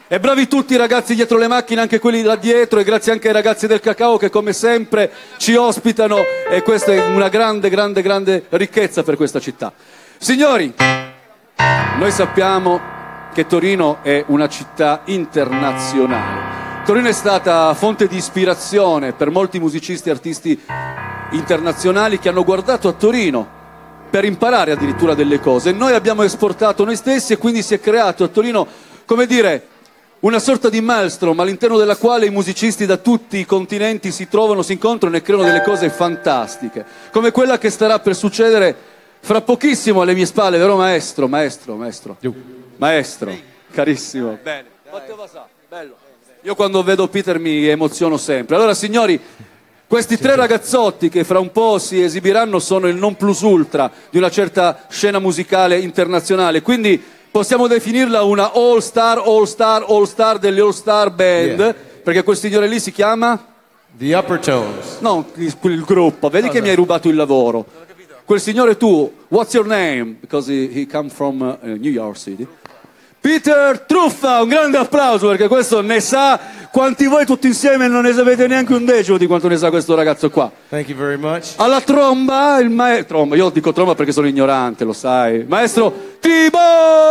E bravi tutti i ragazzi dietro le macchine, anche quelli là dietro, e grazie anche ai ragazzi del cacao che come sempre ci ospitano, e questa è una grande, grande, grande ricchezza per questa città. Signori, noi sappiamo che Torino è una città internazionale. Torino è stata fonte di ispirazione per molti musicisti e artisti internazionali che hanno guardato a Torino per imparare addirittura delle cose. Noi abbiamo esportato noi stessi e quindi si è creato a Torino, come dire, una sorta di maelstrom all'interno della quale i musicisti da tutti i continenti si trovano, si incontrano e creano delle cose fantastiche, come quella che starà per succedere fra pochissimo alle mie spalle, vero maestro? Maestro, carissimo. Bene. Bello. Io quando vedo Peter mi emoziono sempre. Allora signori, questi tre ragazzotti che fra un po' si esibiranno sono il non plus ultra di una certa scena musicale internazionale, quindi possiamo definirla una all star delle all star band, perché quel signore lì si chiama? The Upper Tones. No, il gruppo, vedi che mi hai rubato il lavoro. Quel signore tu, what's your name? Because he come from New York City. Peter Truffa, un grande applauso, perché questo ne sa quanti voi tutti insieme non ne sapete neanche un decimo di quanto ne sa questo ragazzo qua. Thank you very much. Alla tromba, il maestro, io dico tromba perché sono ignorante, lo sai. Maestro Tibo!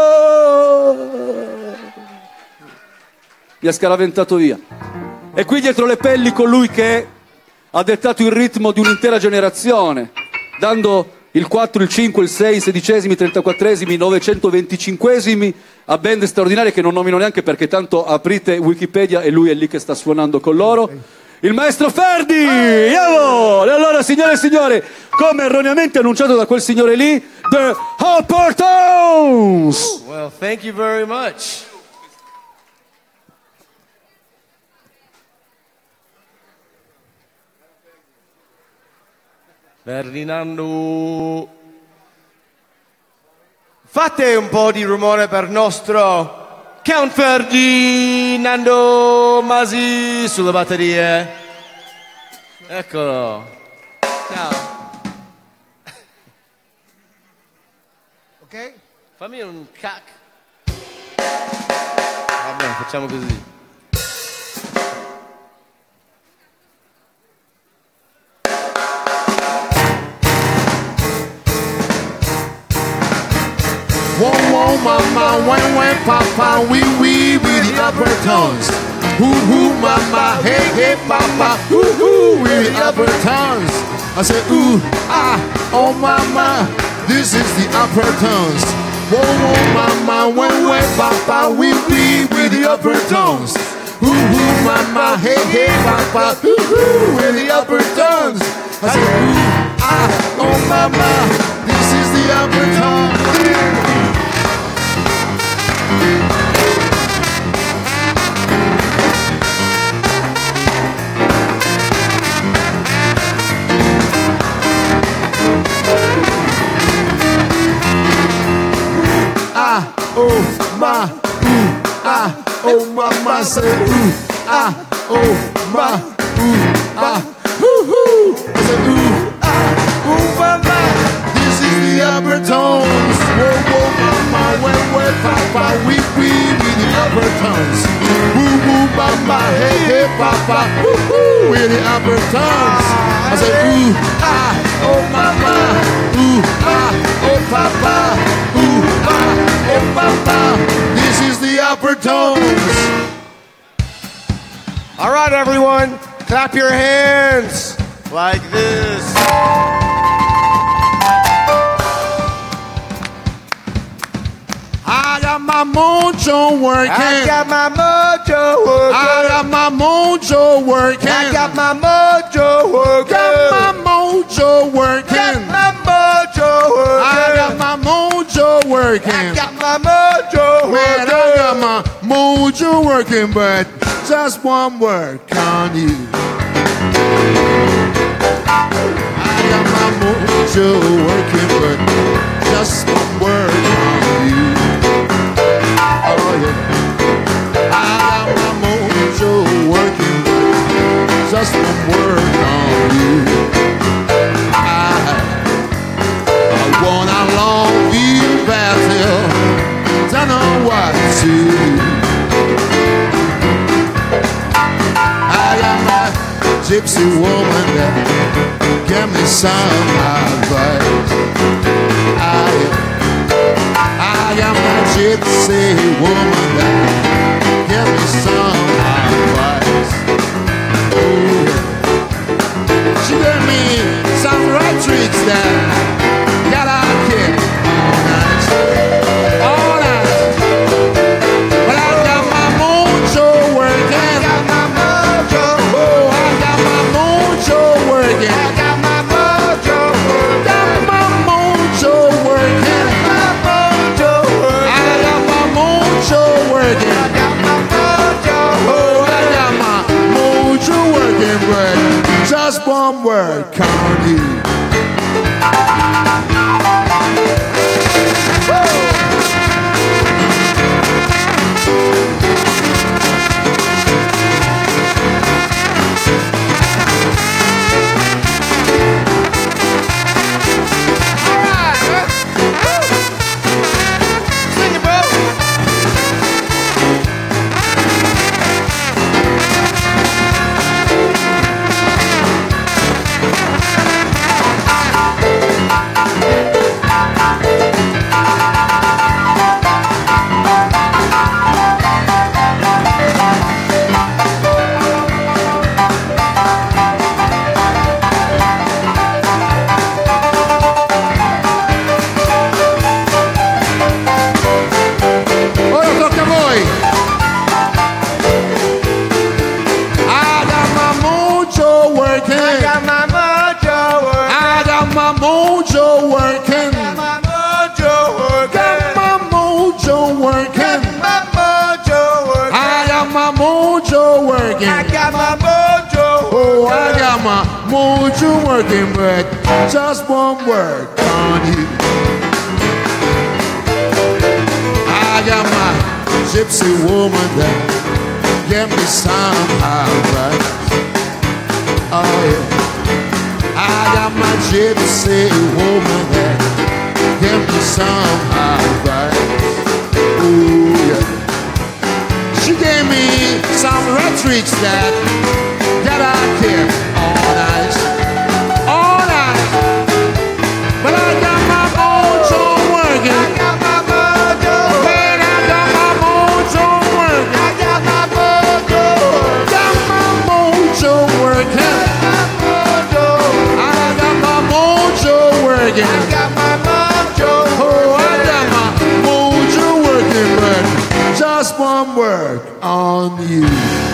Mi ha scaraventato via. E qui dietro le pelli colui che ha dettato il ritmo di un'intera generazione, dando il 4, il 5, il 6, i 16esimi, i 34esimi, i 925esimi a band straordinarie che non nomino neanche perché tanto aprite Wikipedia e lui è lì che sta suonando con loro. Il maestro Ferdi! E allora, signore e signori, come erroneamente annunciato da quel signore lì, The Upper Tones! Well, thank you very much. Ferdinando, fate un po' di rumore per nostro Count Ferdinando Masi sulle batterie. Eccolo. Ciao. Ok? Fammi un cac. Vabbè, facciamo così. Whoa, whoa, mama, when, papa, wee, with the upper tones. Hoo, mama, hey, papa, hoo, with the upper tones. I said, ooh, ah, oh, mama, this is the upper tones. Whoa, mama, when, papa, wee, with the upper tones. Hoo, mama, hey, papa, hoo, with the upper tones. I said, ooh, ah, oh, mama, this is the upper tones. Oh my, ooh, ah, oh mama, say ooh, ah, oh my, ooh, ah, hoo, I say ooh, ah, oh mama, this is the upper tones. Whoa, mama, when, papa, we with the upper tones. Woo, mama, hey, papa, woo, with the upper tones. I say ooh, ah, oh mama, ooh, ah, oh papa, ooh, ah, oh papa, this is the upper tones. All right, everyone, clap your hands like this. I got my mojo working. I got my mojo working. I got my mojo working. I got my mojo working. Got my mojo working. Got my mojo working. I got my mojo working. I got my mojo Man, I working. got my mojo working, but just one word on you. I got my mojo working, but just one word on you. Oh yeah. I got my mojo working, but just one word on you. I want a long view battle. Don't know what to do. gypsy woman that give me some advice. I am my gypsy woman that give me some advice. Ooh, yeah. She gave me some right tricks that got out here all night. All night. But I got my mojo working. I got my mojo. Oh, I got my mojo working. I got my mojo working. Got my mojo working. My mojo working. I got my mojo working. I got my mojo. Oh, I got my mojo working, but just one word, count you. Mojo working, but just one word on you. I got my gypsy woman that give me some advice. Oh yeah. I got my gypsy woman that give me some advice. Ooh yeah. She gave me some red tricks that got out here all night. All night. But I got my mojo working. I got my mojo. Man, I got my mojo working. I got my mojo. Got my mojo working. I got my mojo working. I got my mojo. Oh, I got my mojo working, but just one word on you.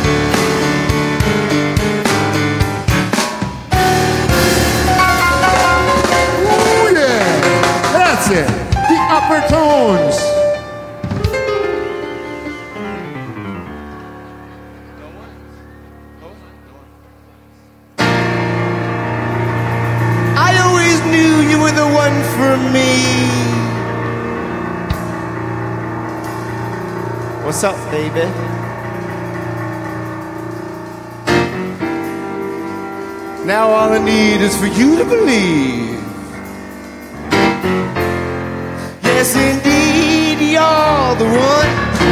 The upper tones. I always knew you were the one for me. What's up, baby? Now all I need is for you to believe. Yes, indeed, you're the one.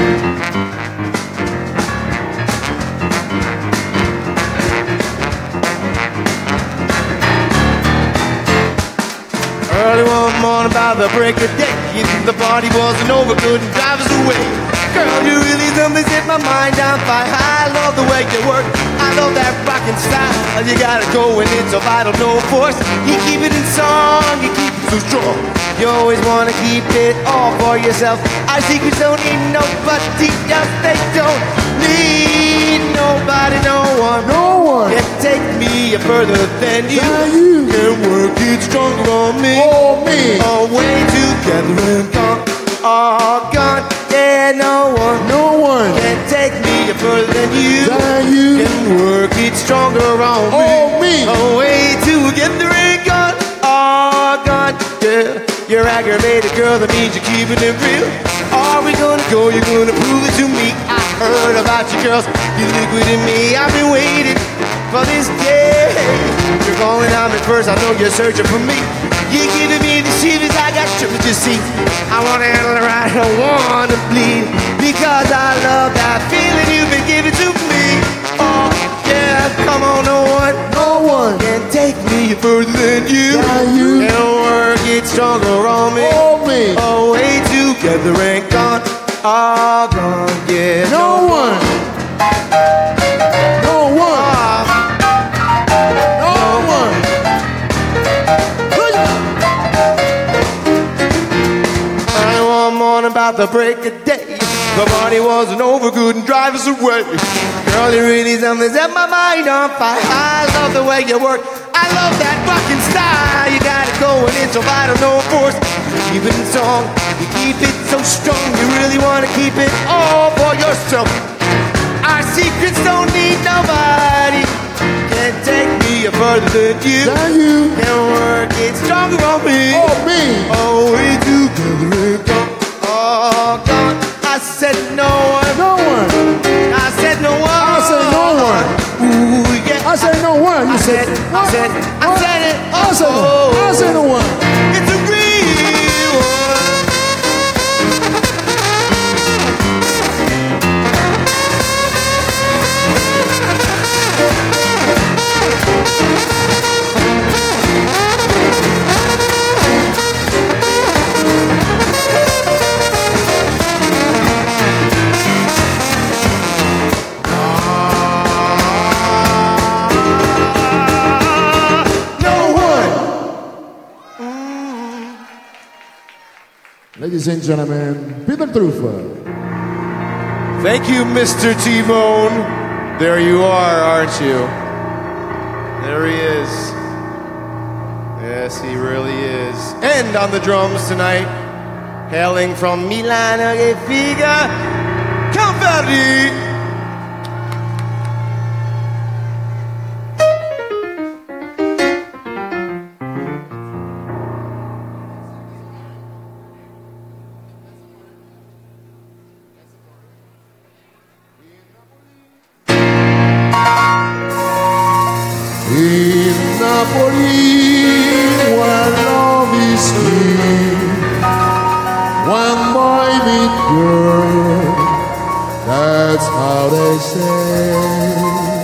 Early one morning by the break of day, the party wasn't over, couldn't drive us away. Girl, you really done me, set my mind on fire. I love the way you work, I love that rockin' style. You got it going, it's so vital, no force. You keep it in song, you keep it so strong. You always wanna keep it all for yourself. Our secrets don't need nobody else. They don't need nobody, no one. No one can take me further than you. Can work it stronger on me. Oh, me. Away together and gone. All gone. Yeah, no one can take me further than you. Can work it stronger on me. Oh, me. Away together and gone. All gone. Yeah. You're aggravated, girl, that means you're keeping it real. Are we gonna go? You're gonna prove it to me. I heard about you, girls. You're liquid in me. I've been waiting for this day. You're calling on me first. I know you're searching for me. You're giving me the shivers. I got strippers to see. I wanna handle it right. I don't wanna bleed. Because I love that feeling you've been giving to me. Oh, yeah, come on, no one about the break of day. The party wasn't over, couldn't drive us away. Girl, you really something set my mind on fire. I love the way you work, I love that fucking style. You got it going, it's so vital, no force. Keep it in song, you keep it so strong. You really want to keep it all for yourself. Our secrets don't need nobody. Can't take me further than you. Can work it stronger on me. Oh, me. Oh, we together go. Oh, God. I said no one. No one. I said no one. I said no one. Ooh, yeah. I said no one. You said what? I said it. Oh, I said no one. it's a real one. Ladies and gentlemen, Peter Truffaut. Thank you, Mr. T-Bone. There you are, aren't you? There he is. Yes, he really is. And on the drums tonight, hailing from Milano che figa, Conferri. In Napoli, where love is king, one boy meet girl, that's how they say.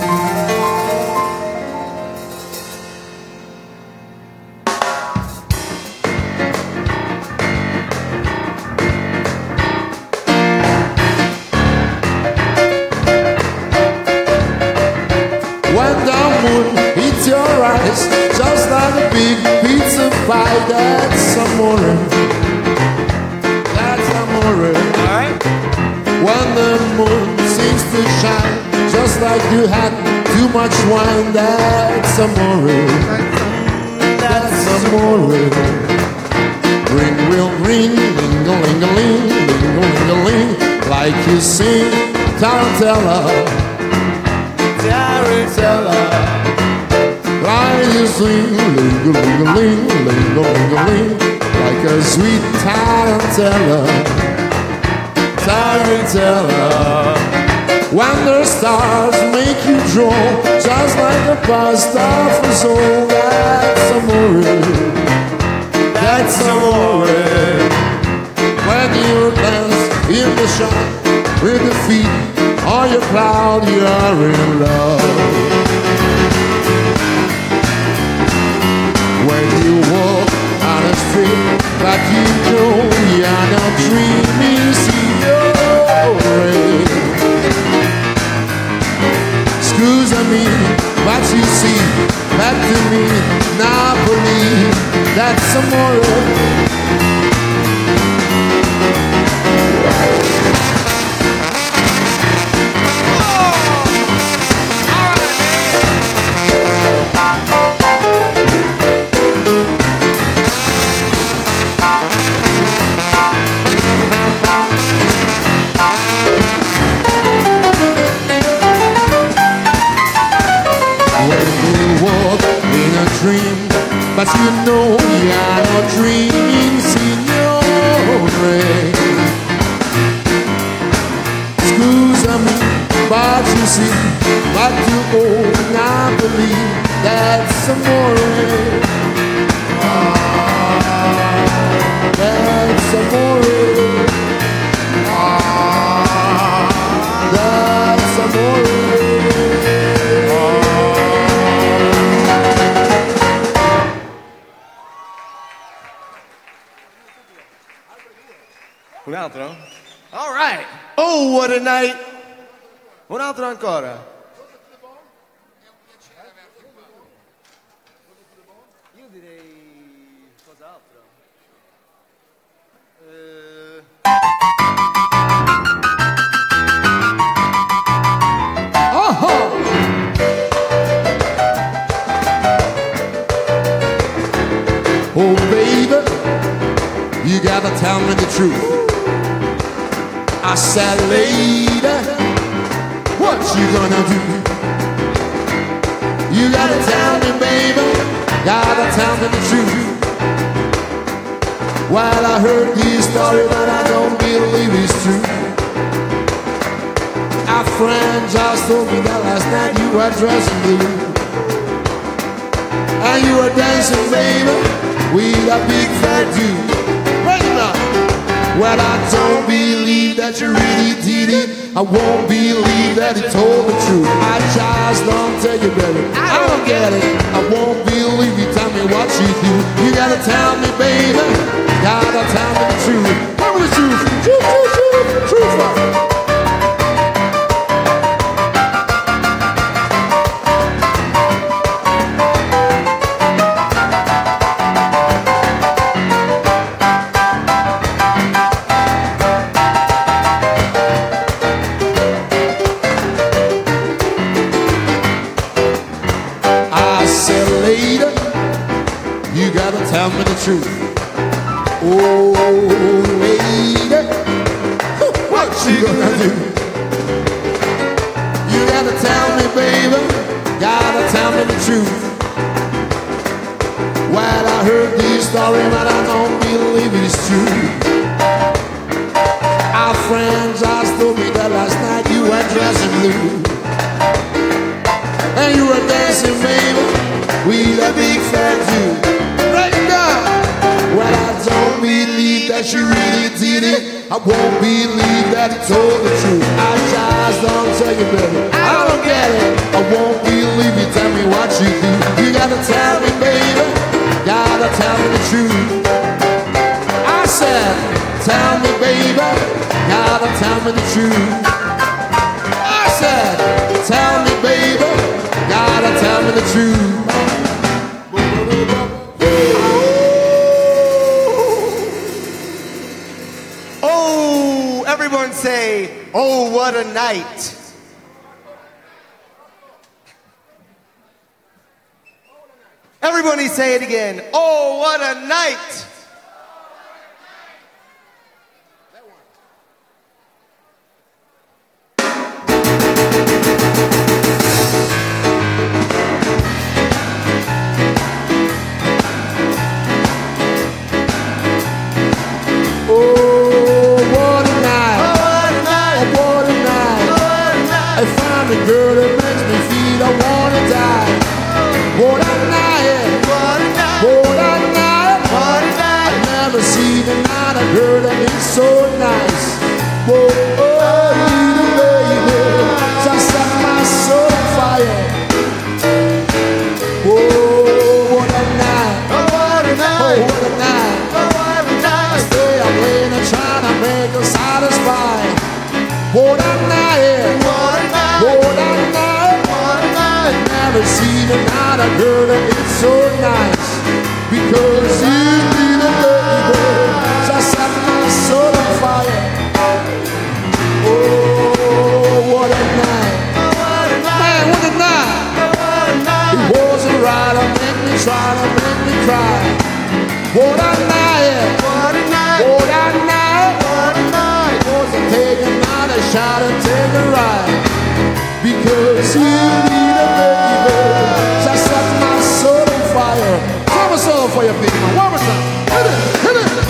When the moon hits your eyes, just like a big pizza pie, that's amore. That's amore. Alright. When the moon seems to shine, just like you had too much wine, that's amore. That's amore. Ring will ring, ling-a-ling-a-ling, ling-a-ling-a-ling, like you sing tarantella. Tarantella. Like you sing, ling-a-ling-a-ling, ling-a-ling-a-ling, like a sweet tarantella. Tarantella. When the stars make you draw, just like a pasta for soul, that's amore. That's amore. When you dance in the shine with the feet on your cloud, you are in love. When you walk on the street, but you know you're not dreaming, signore. Scusami, but you see, back to me, Napoli, that's amore. Dream, but you know you're not dreaming, signore. Scusami, but you see, but you owe Napoli, that's amore. That's amore. That's amore. Un altro? All right. Oh, what a night. Un altro ancora. Io direi cos'altro. gotta tell me the truth. I said, lady, what you gonna do? You gotta tell me, baby, gotta tell me the truth. Well, I heard this story, but I don't believe it's true. Our friend just told me that last night you were dressing blue, and you were dancing, baby, with a big fat dude. Right now. Well, I don't believe that you really did it. I won't believe that you told the truth. I just don't tell you, baby, I don't get it. I won't believe you, tell me what you do. You gotta tell me, baby, gotta tell me the truth. Tell me the truth, truth, truth, truth, truth, truth. Tell me the truth. Oh, lady, what you gonna do? You gotta tell me, baby, gotta tell me the truth. Well, I heard this story, but I don't believe it's true. Our friend just told me that last night you were dressing blue, and you were dancing, baby, with a big fat dude. Well, I don't believe that you really did it. I won't believe that you told the truth. I just don't tell you, baby, I don't get it. I won't believe you, tell me what you do. You gotta tell me, baby, gotta tell me the truth. I said, tell me, baby, gotta tell me the truth. I said, tell me, baby, gotta tell me the truth. Everyone say, oh, what a night. Everybody say it again. Oh, what a night. The girl that makes me feel I wanna die. What a night, what a night, what a night, what a night. I've never seen another girl that is so nice. Whoa, oh, little baby, just set my soul on fire. Whoa, what a night, oh, what a night, oh, what a night, oh, what a night. I stay up late and trying to make her satisfied. What a night, what a night. What a night, what a night. I've never seen another girl that is so nice. Because you, little baby, just set my soul on fire. Oh, what a night. What a night. Man, what a night. What a night. It wasn't right to make me try to make me cry. What a night. What a night. What a night. What a night. It wasn't taking another shot and take a ride. Because you need a baby, just set my soul on fire. Throw a soul for your baby, man. One more time. Hit it, hit it.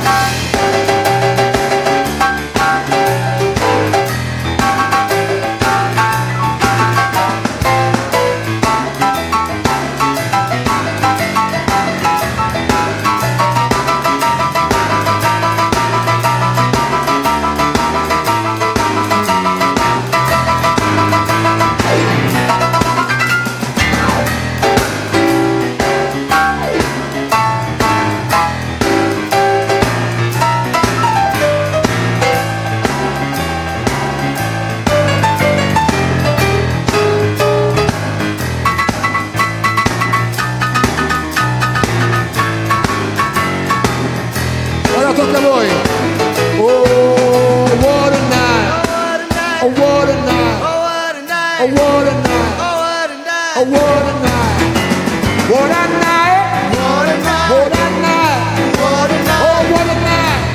Tocca a voi. Oh, what a night. Oh, what a night. Oh, what a night. Oh, what a night. Oh, what a night. What a night. What a night. What a night. What a night. Oh, what a night.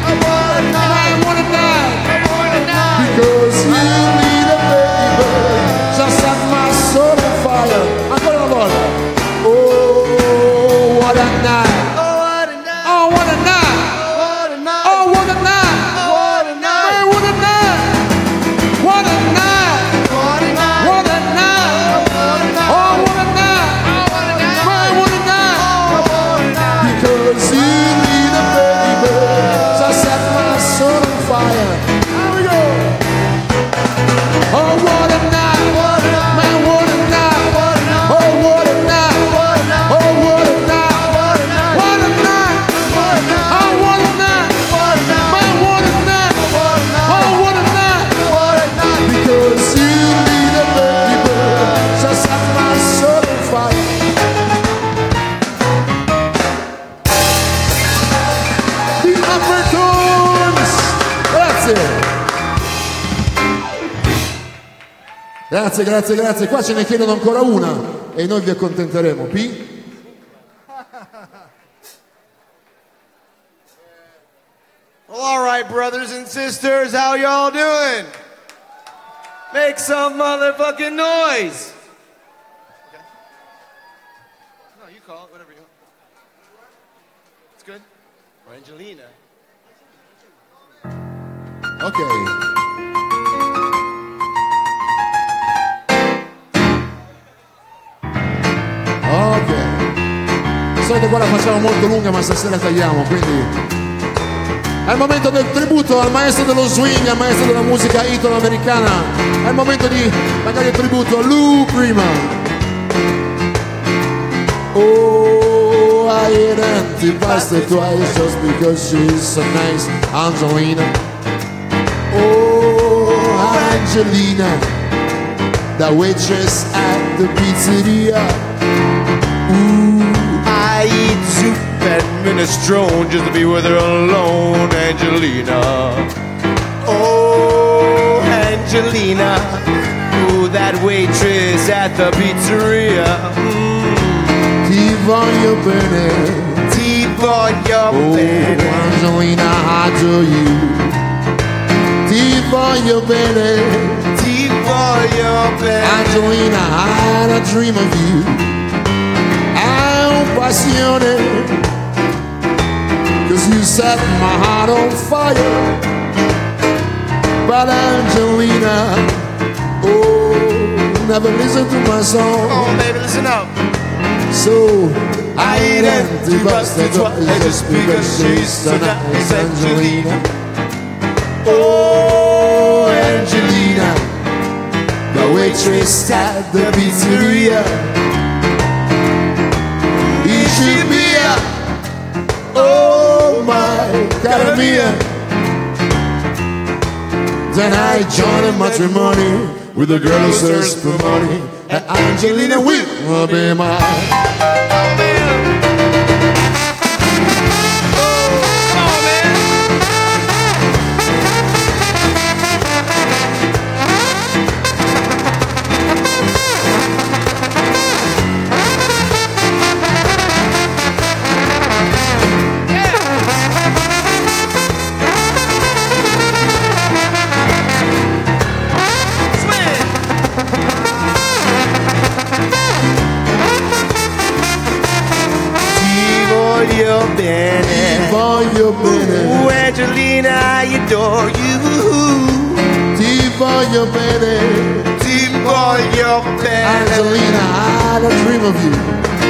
Grazie, grazie, grazie. Qua ce ne chiedono ancora una e noi vi accontenteremo. P? Well, all right, brothers and sisters, how y'all doing? Make some motherfucking noise. Okay. No, you call it, whatever you want. It's good. Or Angelina. Ok. Ok. Di solito qua la facciamo molto lunga, ma stasera tagliamo, quindi è il momento del tributo al maestro dello swing, al maestro della musica italo-americana. È il momento di magari il tributo a Lou Prima. Oh, I hit empty bastard twice just because she's so nice, Angelina. Oh, Angelina, the waitress at the pizzeria. Ooh, I eat soup and minestrone just to be with her alone, Angelina. Oh, Angelina, ooh, that waitress at the pizzeria. Ti voglio bene, Ti voglio oh, bene. Angelina, I do you. Ti voglio bene, Ti voglio bene. Angelina, I had a dream of you. Hai un passione, 'cause you set my heart on fire. But Angelina, oh, never listen to my song. Oh, baby, listen up. So I ain't empty busted twice just because she's so nice, Angelina. Oh, Angelina, the waitress at the pizzeria. Ishibia, oh my cara mia. Then I joined in matrimony with a girl who searches for money, and Angelina will be mine. Voglio bene, Ooh, Angelina, I adore you. ti voglio bene, Ti voglio bene. Angelina, I had a dream of you.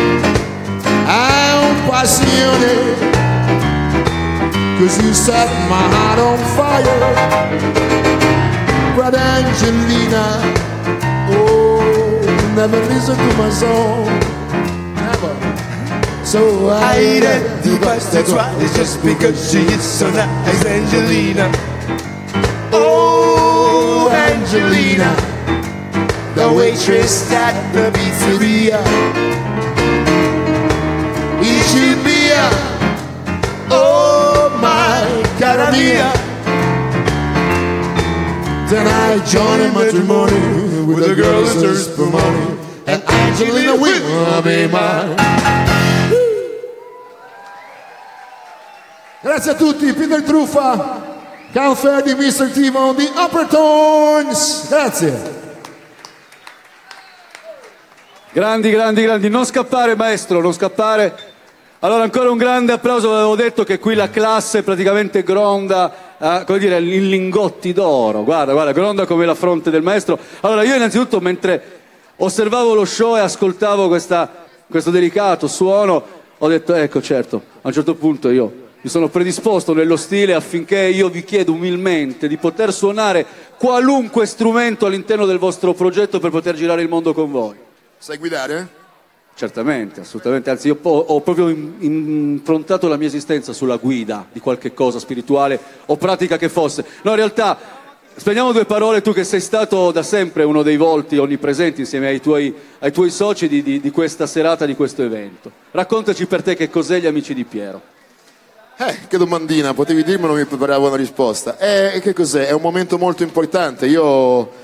Hai un passione, 'cause you set my heart on fire. But Angelina, oh, never listen to my song. Never. So I I eat the pasta twice just because she is so nice, Angelina. Oh, Angelina, the waitress at the pizzeria. Ishibia, oh my cara mia. Then I joined in matrimony with a girl who searches for money, and Angelina will be mine. Grazie a tutti, Peter Truffa, Count Ferdi, Mr. Timo, The Upper Tones. Grazie. Grandi, grandi, grandi. Non scappare, maestro, non scappare. Allora, ancora un grande applauso. Avevo detto che qui la classe praticamente gronda, come dire, in lingotti d'oro. Guarda, guarda, gronda come la fronte del maestro. Allora, io innanzitutto, mentre osservavo lo show e ascoltavo questo delicato suono, ho detto, ecco, certo, a un certo punto io mi sono predisposto nello stile affinché io vi chiedo umilmente di poter suonare qualunque strumento all'interno del vostro progetto per poter girare il mondo con voi. Sai guidare? Certamente, assolutamente, anzi io ho proprio improntato la mia esistenza sulla guida di qualche cosa spirituale o pratica che fosse. No, in realtà, spendiamo due parole, tu che sei stato da sempre uno dei volti onnipresenti insieme ai tuoi soci di questa serata, di questo evento. Raccontaci per te che cos'è gli Amici di Piero. Che domandina, potevi dirmelo, mi preparavo una risposta. Che cos'è? È un momento molto importante. Io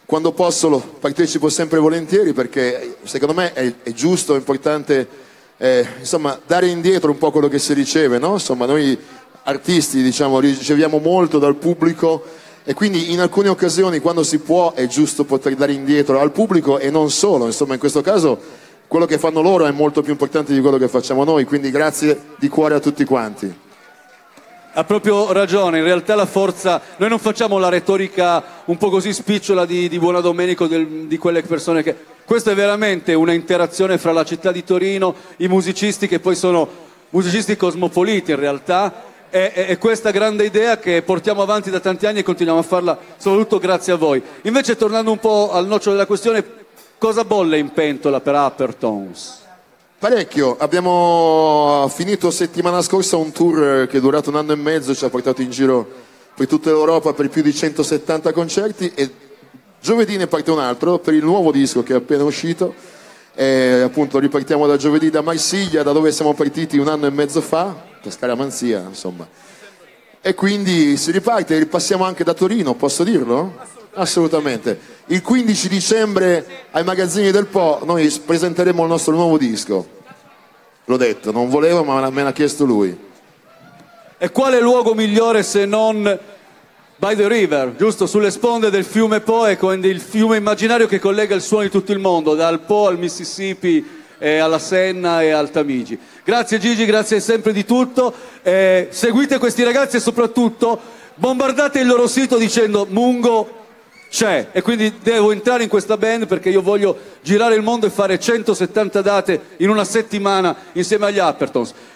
quando posso partecipo sempre volentieri, perché secondo me è giusto, è importante insomma dare indietro un po' quello che si riceve, no? Insomma, noi artisti, diciamo, riceviamo molto dal pubblico, e quindi in alcune occasioni, quando si può, è giusto poter dare indietro al pubblico, e non solo, insomma, in questo caso quello che fanno loro è molto più importante di quello che facciamo noi, quindi grazie di cuore a tutti quanti. Ha proprio ragione, in realtà la forza, noi non facciamo la retorica un po' così spicciola di Buona Domenico, di quelle persone che... Questa è veramente una interazione fra la città di Torino, i musicisti che poi sono musicisti cosmopoliti in realtà, e questa grande idea che portiamo avanti da tanti anni e continuiamo a farla soprattutto grazie a voi. Invece, tornando un po' al nocciolo della questione, cosa bolle in pentola per Uppertones? Parecchio, abbiamo finito settimana scorsa un tour che è durato 1 anno e mezzo, ci ha portato in giro per tutta l'Europa per più di 170 concerti, e giovedì ne parte un altro per il nuovo disco che è appena uscito, e appunto ripartiamo da giovedì da Marsiglia, da dove siamo partiti 1 anno e mezzo fa, per Scaramanzia insomma, e quindi si riparte, ripassiamo anche da Torino, posso dirlo? Assolutamente. Il 15 dicembre ai magazzini del Po noi presenteremo il nostro nuovo disco. L'ho detto, non volevo, ma me l'ha chiesto lui. E quale luogo migliore se non by the river, giusto? Sulle sponde del fiume Po, e quindi il fiume immaginario che collega il suono di tutto il mondo, dal Po al Mississippi, alla Senna e al Tamigi. Grazie Gigi, grazie sempre di tutto. Seguite questi ragazzi e soprattutto bombardate il loro sito dicendo Mungo c'è, e quindi devo entrare in questa band perché io voglio girare il mondo e fare 170 date in una settimana insieme agli Uppertones.